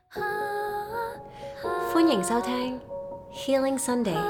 歡迎收聽 Healing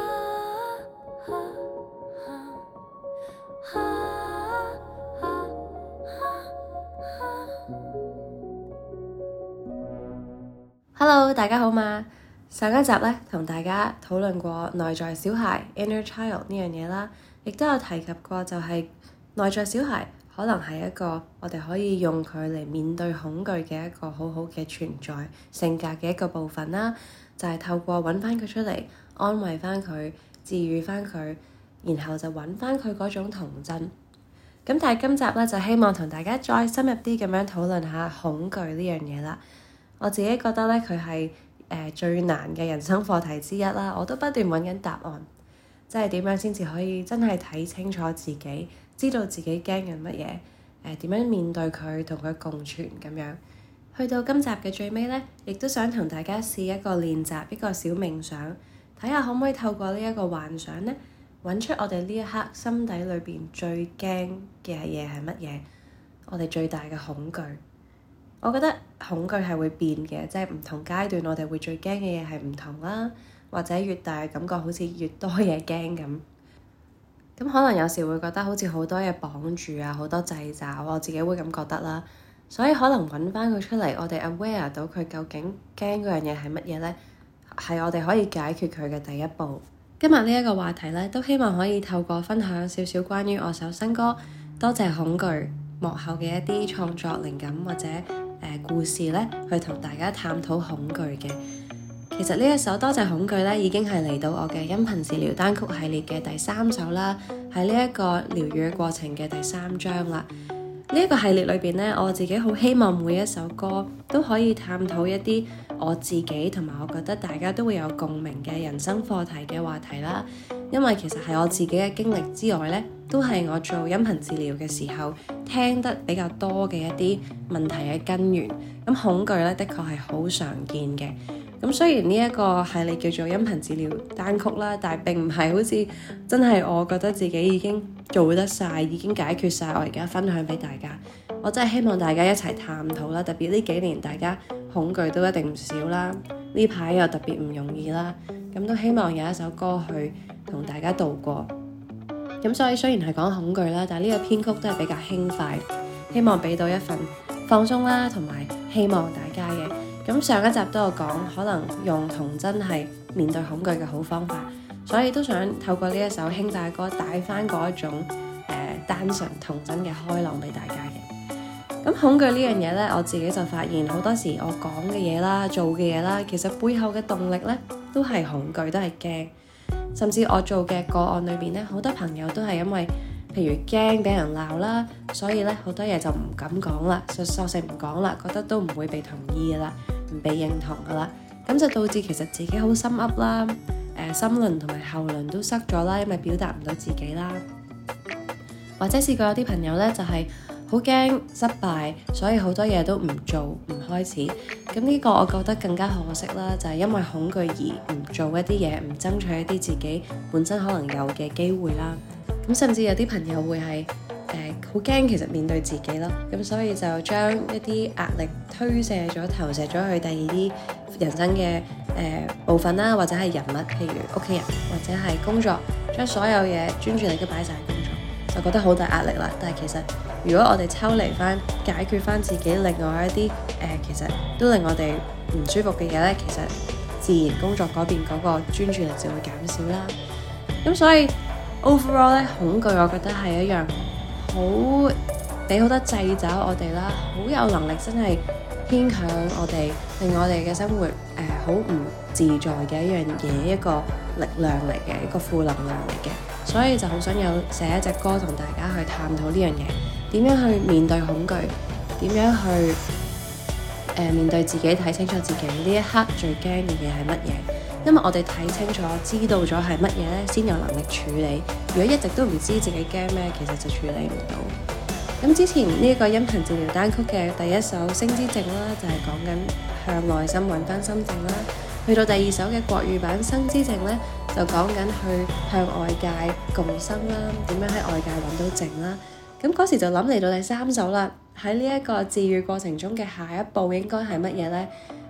Sunday。Hello， 大家好嘛！上一集咧同大家討論過內在小孩 Inner Child 呢樣嘢啦，亦都有提及過就係內在小孩可能係一個我哋可以用佢嚟面對恐懼嘅一個好好嘅存在性格嘅一個部分啦，就係透過揾翻佢出嚟，安慰翻佢，治癒翻佢，然後就揾翻佢嗰種童真。咁但係今集咧就希望同大家再深入啲咁樣討論下恐懼呢樣嘢啦。我自己覺得咧佢係最難嘅人生課題之一啦，我都不斷揾緊答案，即係點樣先至可以真係睇清楚自己，知道自己驚緊乜嘢，點樣面對佢，同佢共存咁樣。去到今集嘅最尾咧，亦都想同大家試一個練習，一個小冥想，睇下可唔可以透過呢一個幻想咧，揾出我哋呢一刻心底裏邊最驚嘅嘢係乜嘢，我哋最大嘅恐懼。我覺得恐懼係會變嘅，即係唔同階段我哋會最驚嘅嘢係唔同啦，或者越大感覺好似越多嘢驚咁。咁可能有時會覺得好似好多嘢綁住啊，好多掣肘，我自己會咁覺得啦。所以可能揾翻佢出嚟，我哋 aware 到佢究竟驚嗰樣嘢係乜嘢呢？係我哋可以解決佢嘅第一步。今日呢一個話題呢，都希望可以透過分享少少關於我首新歌《多謝恐懼》幕後嘅一啲創作靈感或者故事呢，去同大家探討恐懼嘅。其實呢一首《多謝恐懼》呢，已經係嚟到我嘅音頻治療單曲系列嘅第3首啦，喺呢一個療癒嘅過程嘅第3章啦。呢一個系列裏邊呢，我自己好希望每一首歌都可以探討一啲我自己同埋我覺得大家都會有共鳴嘅人生課題嘅話題啦。因為其實係我自己嘅經歷之外呢，都係我做音頻治療嘅時候聽得比較多嘅一啲問題嘅根源。咁恐懼呢，的確係好常見嘅。咁雖然呢一個系列叫做音頻治療單曲啦，但係並唔係好似真係我覺得自己已經做得晒，已經解決晒，我而家分享俾大家。我真係希望大家一齊探討啦，特別呢幾年大家恐懼都一定唔少啦，呢排又特別唔容易啦，咁都希望有一首歌去同大家度過。咁所以雖然係講恐懼啦，但係呢個編曲都係比較輕快，希望俾到一份放鬆啦，同埋希望大家嘅。咁上一集都有講，可能用童真係面對恐懼嘅好方法，所以都想透過呢一首輕快歌帶翻嗰一種單純童真嘅開朗俾大家嘅。咁恐懼呢樣嘢呢，我自己就發現好多時我講嘅嘢啦、做嘅嘢啦，其實背後嘅動力呢都係恐懼，都係驚。甚至我做嘅個案裏邊呢，好多朋友都係因為譬如驚俾人鬧啦，所以呢好多嘢就唔敢講啦，就索性唔講啦，覺得都唔會被同意噶啦，唔被認同噶啦，咁就導致其實自己好心噏啦，心輪同埋後輪都塞咗啦，因為表達唔到自己啦。或者試過有啲朋友呢，就係好驚失敗，所以好多嘢都唔做唔開始。咁呢個我覺得更加可惜啦，就係因為恐懼而唔做一啲嘢，唔爭取一啲自己本身可能有嘅機會啦。咁甚至有啲朋友會係好驚其實面對自己咯，咁所以就將一啲壓力推卸咗、投射咗去第二啲人生嘅部分啦，或者係人物，譬如屋企人或者係工作，將所有嘢專注力都擺晒喺工作，就覺得好大壓力啦。但係其實如果我哋抽離翻，解決翻自己另外一啲其實都令我哋唔舒服嘅嘢咧，其實自然工作嗰邊嗰個專注力就會減少啦。咁所以 overall 咧，恐懼我覺得係一樣好俾好多掣肘我哋啦，好有能力真係牽強我哋，令我哋嘅生活好唔自在嘅一樣嘢，一個力量嚟嘅，一個負能量嚟嘅。所以就好想寫一隻歌同大家去探討呢樣嘢，點樣去面對恐懼，點樣去面對自己，睇清楚自己呢一刻最驚嘅嘢係乜嘢。因為我哋睇清楚知道咗係乜嘢咧，先有能力處理。如果一直都唔知自己驚咩，其實就處理唔到。咁之前呢個音頻治療單曲嘅第一首《星之靜》啦，就係講緊向內心揾翻心靜啦。去到第二首嘅國語版《生之靜》咧，就講緊去向外界共生啦，點樣喺外界揾到靜啦。咁嗰時就諗嚟到第3首啦，喺呢一個治癒過程中嘅下一步應該係乜嘢呢？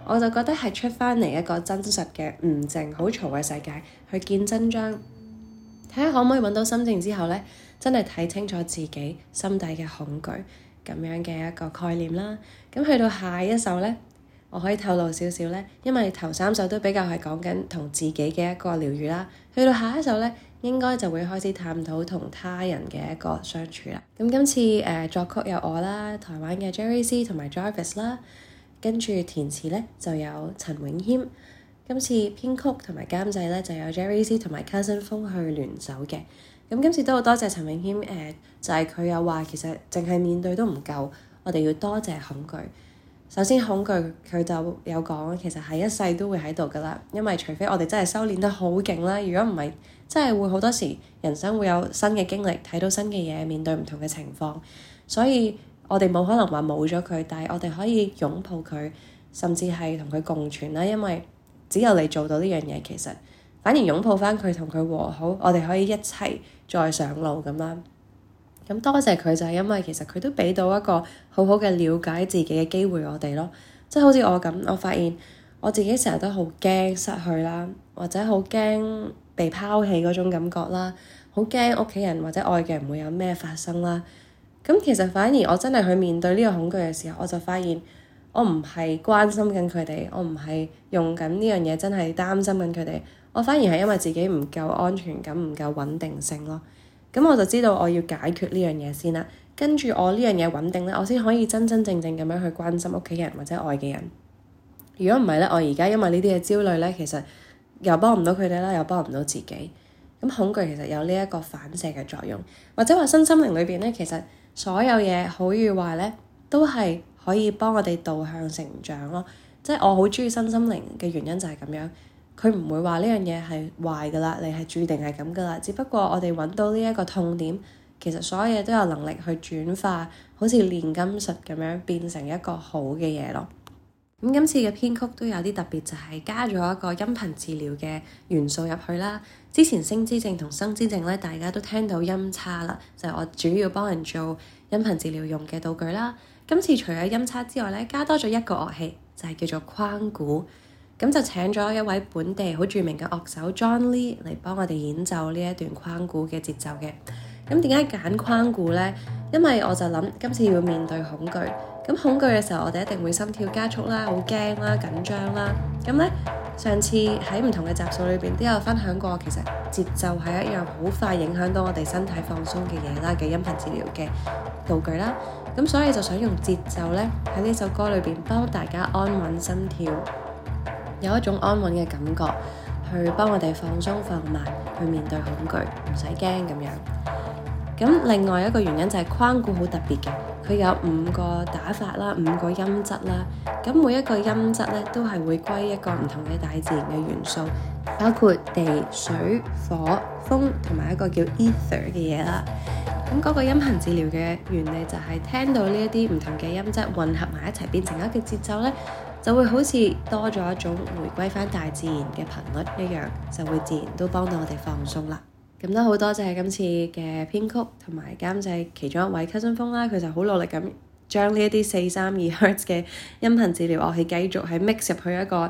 我就覺得係出翻嚟一個真實嘅唔靜好嘈嘅世界，去見真章，睇下可唔可以揾到心靜之後呢，真係睇清楚自己心底嘅恐懼咁樣嘅一個概念啦。咁去到下一首呢，我可以透露少少呢，因為頭3首都比較係講緊同自己嘅一個療癒啦。去到下一首呢，應該就會開始探討同他人嘅一個相處啦。咁今次作曲有我啦，台灣嘅 Jerry C 同埋 Jarvis 啦，跟住填詞呢就有陳永謙。今次編曲同埋監製呢就有 Jerry C 同埋 Cousin 風去聯手嘅。咁今次都好多謝陳永謙，就係佢有話其實淨係面對都唔夠，我哋要多謝恐懼。首先恐懼佢就有講，其實係一世都會喺度噶啦，因為除非我哋真係修煉得好勁啦，如果唔係，真係會好多時人生會有新嘅經歷，睇到新嘅嘢，面對唔同嘅情況，所以我哋冇可能話冇咗佢，但係我哋可以擁抱佢，甚至係同佢共存啦，因為只有你做到呢樣嘢，其實反而擁抱翻佢，同佢和好，我哋可以一齊再上路咁啦。咁多謝佢就係因為其實佢都俾到一個好好嘅了解自己嘅機會我哋咯，即係好似我咁，我發現我自己成日都好驚失去啦，或者好驚被拋棄嗰種感覺啦，好驚屋企人或者愛嘅人會有咩發生啦。咁其實反而我真係去面對呢個恐懼嘅時候，我就發現我唔係關心緊佢哋，我唔係用緊呢樣嘢真係擔心緊佢哋，我反而係因為自己唔夠安全感，唔夠穩定性咯。咁我就知道我要解決呢樣嘢先啦，跟住我呢樣嘢穩定咧，我先可以真真正正咁樣去關心屋企人或者愛嘅人。如果唔係咧，我而家因為呢啲嘅焦慮咧，其實又幫唔到佢哋啦，又幫唔到自己。咁恐懼其實有呢一個反射嘅作用，或者話身心靈裏邊咧，其實所有嘢好與壞咧，都係可以幫我哋導向成長咯。即係我好鍾意身心靈嘅原因就係咁樣。佢唔會話呢樣嘢係壞噶啦，你係注定係咁噶啦。只不過我哋揾到呢一個痛點，其實所有嘢都有能力去轉化，好似煉金術咁樣變成一個好嘅嘢咯。咁今次嘅編曲都有啲特別，就係加咗一個音頻治療嘅元素入去啦。之前聲之靜同生之靜咧，大家都聽到音叉啦，就係我主要幫人做音頻治療用嘅道具啦。今次除咗音叉之外咧，加多咗一個樂器，就係叫做框鼓。咁就請咗一位本地好著名嘅樂手 John Lee 嚟幫我哋演奏呢一段框鼓嘅節奏嘅。咁點解揀框鼓呢？因為我就諗今次要面對恐懼，咁恐懼嘅時候我哋一定會心跳加速啦，好驚啦，緊張啦。咁呢，上次喺唔同嘅集數裏邊都有分享過，其實節奏係一樣好快影響到我哋身體放鬆嘅嘢啦，嘅音頻治療嘅道具啦。咁所以就想用節奏呢，喺呢首歌裏邊幫大家安穩心跳，有一種安穩嘅感覺，去幫我哋放鬆放慢，去面對恐懼，唔使驚咁樣。咁另外一個原因就係框鼓好特別嘅，佢有5個打法啦，5個音質啦。咁每一個音質咧都係會歸一個唔同嘅大自然嘅元素，包括地、水、火、風同埋一個叫 ether 嘅嘢啦。咁嗰個音頻治療嘅原理就係聽到呢一啲唔同嘅音質混合埋一齊變成一個節奏咧，就會好似多咗一種回歸返大自然嘅頻率一樣，就會自然都幫到我哋放鬆啦。咁都好多謝今次嘅編曲同埋監製其中一位 Cousin 風啦，佢就好努力咁將呢一啲432 Hz 嘅音頻治療樂器繼續係 mix 入去一個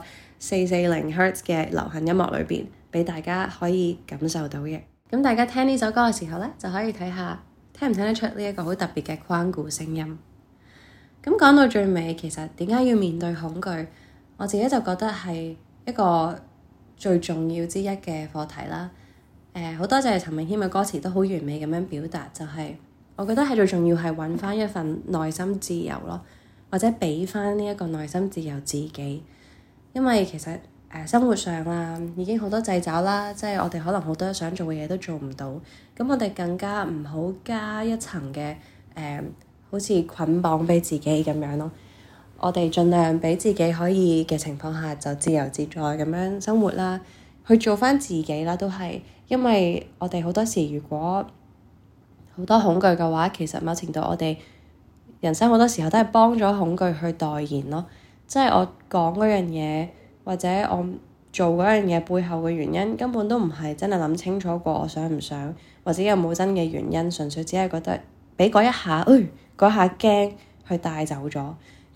440 Hz 嘅流行音樂裏邊，俾大家可以感受到嘅。咁大家聽呢首歌嘅時候咧，就可以睇下聽唔聽得出呢一個好特別嘅框鼓聲音。咁講到最尾，其實點解要面對恐懼？我自己就覺得係一個最重要之一嘅課題啦。好多謝陳詠謙嘅歌詞都好完美咁樣表達，就係我覺得係最重要係揾翻一份內心自由咯，或者俾翻呢一個內心自由自己。因為其實生活上啊已經好多掣肘啦，即係我哋可能好多想做嘅嘢都做唔到，咁我哋更加唔好加一層嘅好似捆綁俾自己咁樣咯。我哋盡量俾自己可以嘅情況下就自由自在咁樣生活啦，去做翻自己啦，都係因為我哋好多時如果好多恐懼嘅話，其實某程度我哋人生好多時候都係幫咗恐懼去代言咯。即係我講嗰樣嘢或者我做嗰樣嘢背後嘅原因，根本都唔係真係諗清楚過我想唔想，或者有冇真嘅原因，純粹只係覺得俾嗰一下，嗰下驚去帶走咗。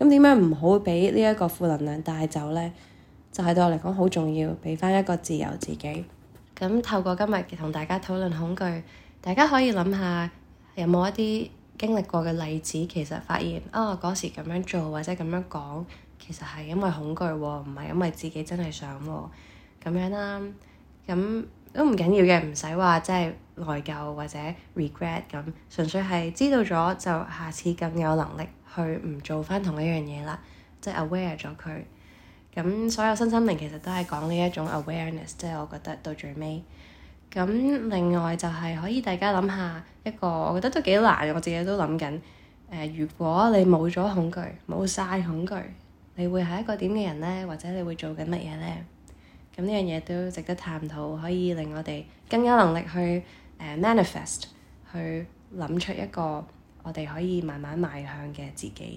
咁點樣唔好俾呢一個負能量帶走呢？就係對我嚟講好重要，俾翻一個自由自己。咁透過今日同大家討論恐懼，大家可以諗下有冇一啲經歷過嘅例子，其實發現嗰時咁樣做或者咁樣講，其實係因為恐懼喎，唔係因為自己真係想喎，咁樣啦。咁都唔緊要嘅，唔使話即係內疚或者 regret 咁，純粹係知道咗就下次更有能力去唔做翻同一樣嘢啦，即係 aware 咗佢。咁所有身心靈其實都係講呢一種 awareness，即係我覺得到最尾。咁另外就係可以大家諗下一個，我覺得都幾難，我自己都諗緊。如果你冇咗恐懼，冇晒恐懼，你會係一個點嘅人呢？或者你會做緊乜嘢呢？咁呢樣嘢都值得探討，可以令我哋更有能力去manifest，去諗出一個我哋可以慢慢邁向嘅自己。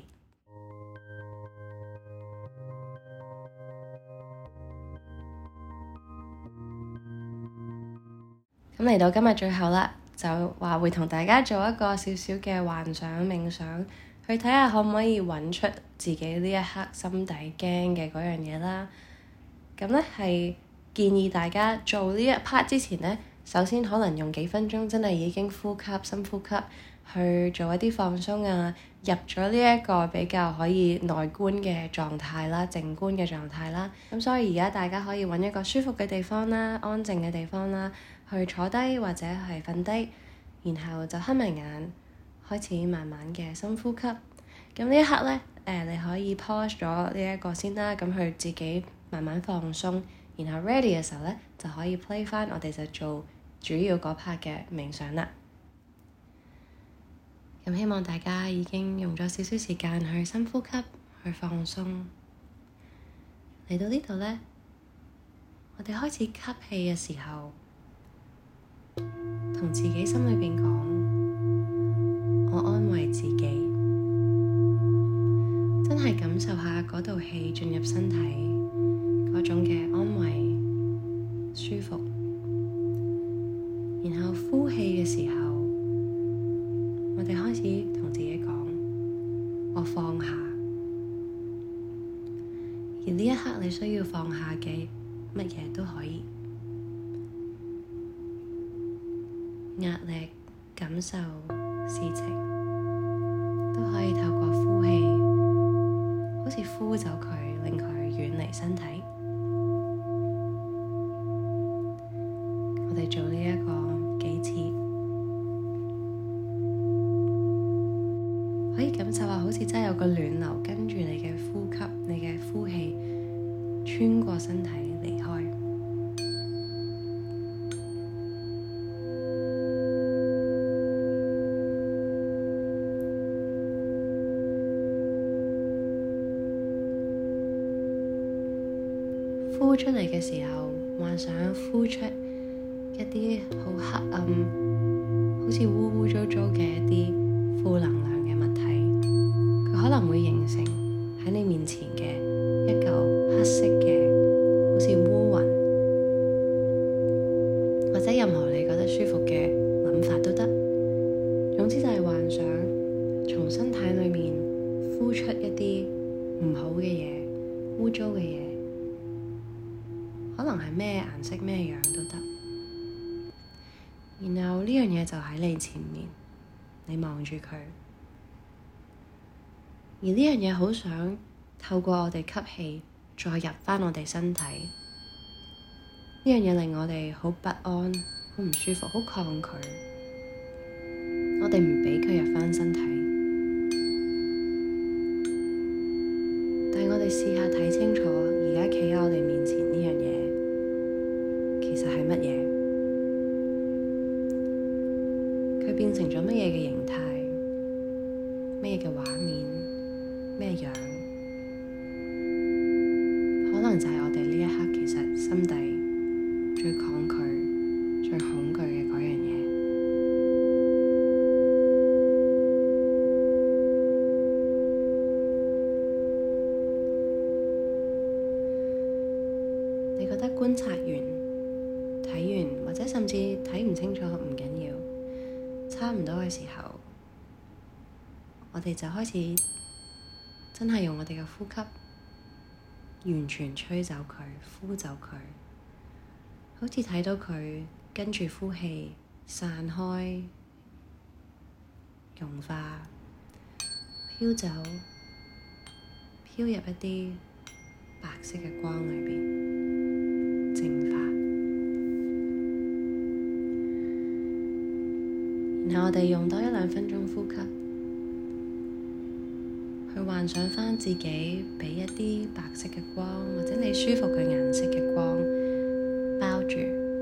咁嚟到今日最後啦，就話會同大家做一個少少嘅幻想冥想，去睇下可唔可以揾出自己呢一刻心底驚嘅嗰樣嘢啦。咁咧係建議大家做呢一 part 之前咧，首先可能用幾分鐘真係已經呼吸深呼吸，去做一啲放鬆啊，入咗呢一個比較可以內觀嘅狀態啦，靜觀嘅狀態啦。咁所以而家大家可以揾一個舒服嘅地方啦，安靜嘅地方啦，去坐低或者係瞓低，然後就黑埋眼，開始慢慢嘅深呼吸。咁呢一刻咧，你可以 pause 咗呢一個先啦，咁去自己慢慢放鬆，然後 ready 嘅時候咧，就可以 play 翻，我哋就做主要嗰 part 嘅冥想啦。咁希望大家已經用咗少少時間去深呼吸，去放鬆。嚟到呢度咧，我哋開始吸氣嘅時候，同自己心裏邊講，我安慰自己，真係感受下嗰道氣進入身體嗰種嘅安慰、舒服。然後呼氣嘅時候，我哋開始同自己講，我放下。而呢一刻你需要放下嘅乜嘢都可以，壓力、感受、事情都可以透過呼氣，好似呼走佢，令佢遠離身體。我哋做呢一個幾次，可以感受下好似真係有個暖流跟住你嘅呼吸，你嘅呼氣穿過身體離開。呼出嚟嘅時候，幻想呼出一啲好黑暗，好似污污糟糟嘅一啲負能量嘅物體，佢可能會形成喺你面前嘅一嚿黑色嘅，好似烏雲，或者任何你覺得舒服嘅諗法都得。總之就係幻想從身體裏面呼出一啲唔好嘅嘢、污糟嘅嘢，可能係咩顏色、咩樣都得。然後呢樣嘢就喺你前面，你望住佢，而呢樣嘢好想透過我哋吸氣再入返我哋身體。呢樣嘢令我哋好不安、好唔舒服、好抗拒，我哋唔畀佢入返身體。但係我哋試下睇清楚，而家企喺我哋面前呢樣嘢其實係乜嘢？佢變成咗乜嘢嘅形態？咩嘅畫面？咩樣？可能就係我哋呢一刻其實心底最抗拒、最恐懼嘅嗰樣嘢。你覺得觀察完、睇完，或者甚至睇唔清楚唔緊要，差唔多嘅時候，我哋就開始真係用我哋嘅呼吸完全吹走佢，呼走佢，好似睇到佢跟住呼氣散開、融化、飄走、飄入一啲白色嘅光裏邊，淨化。然後我哋用多1-2分鐘呼吸，去幻想返自己畀一啲白色嘅光，或者你舒服嘅顏色嘅光包住，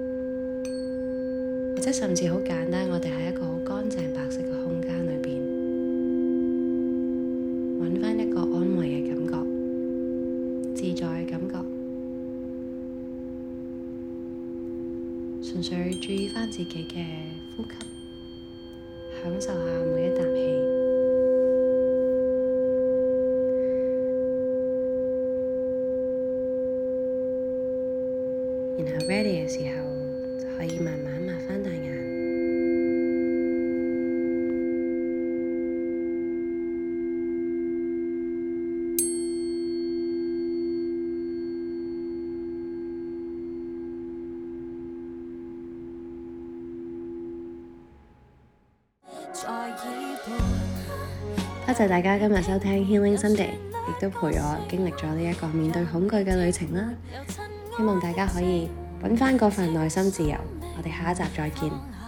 或者甚至好簡單，我哋喺一個好乾淨白色嘅空間裏邊，揾返一個安慰嘅感覺、自在嘅感覺，純粹注意返自己嘅呼吸，享受下每一啖氣。然後 ready 嘅時候，就可以慢慢擘返大眼。多謝大家今日收聽 Healing Sunday， 亦都陪我經歷咗呢一個面對恐懼嘅旅程啦。希望大家可以揾返嗰份內心自由。我哋下一集再見。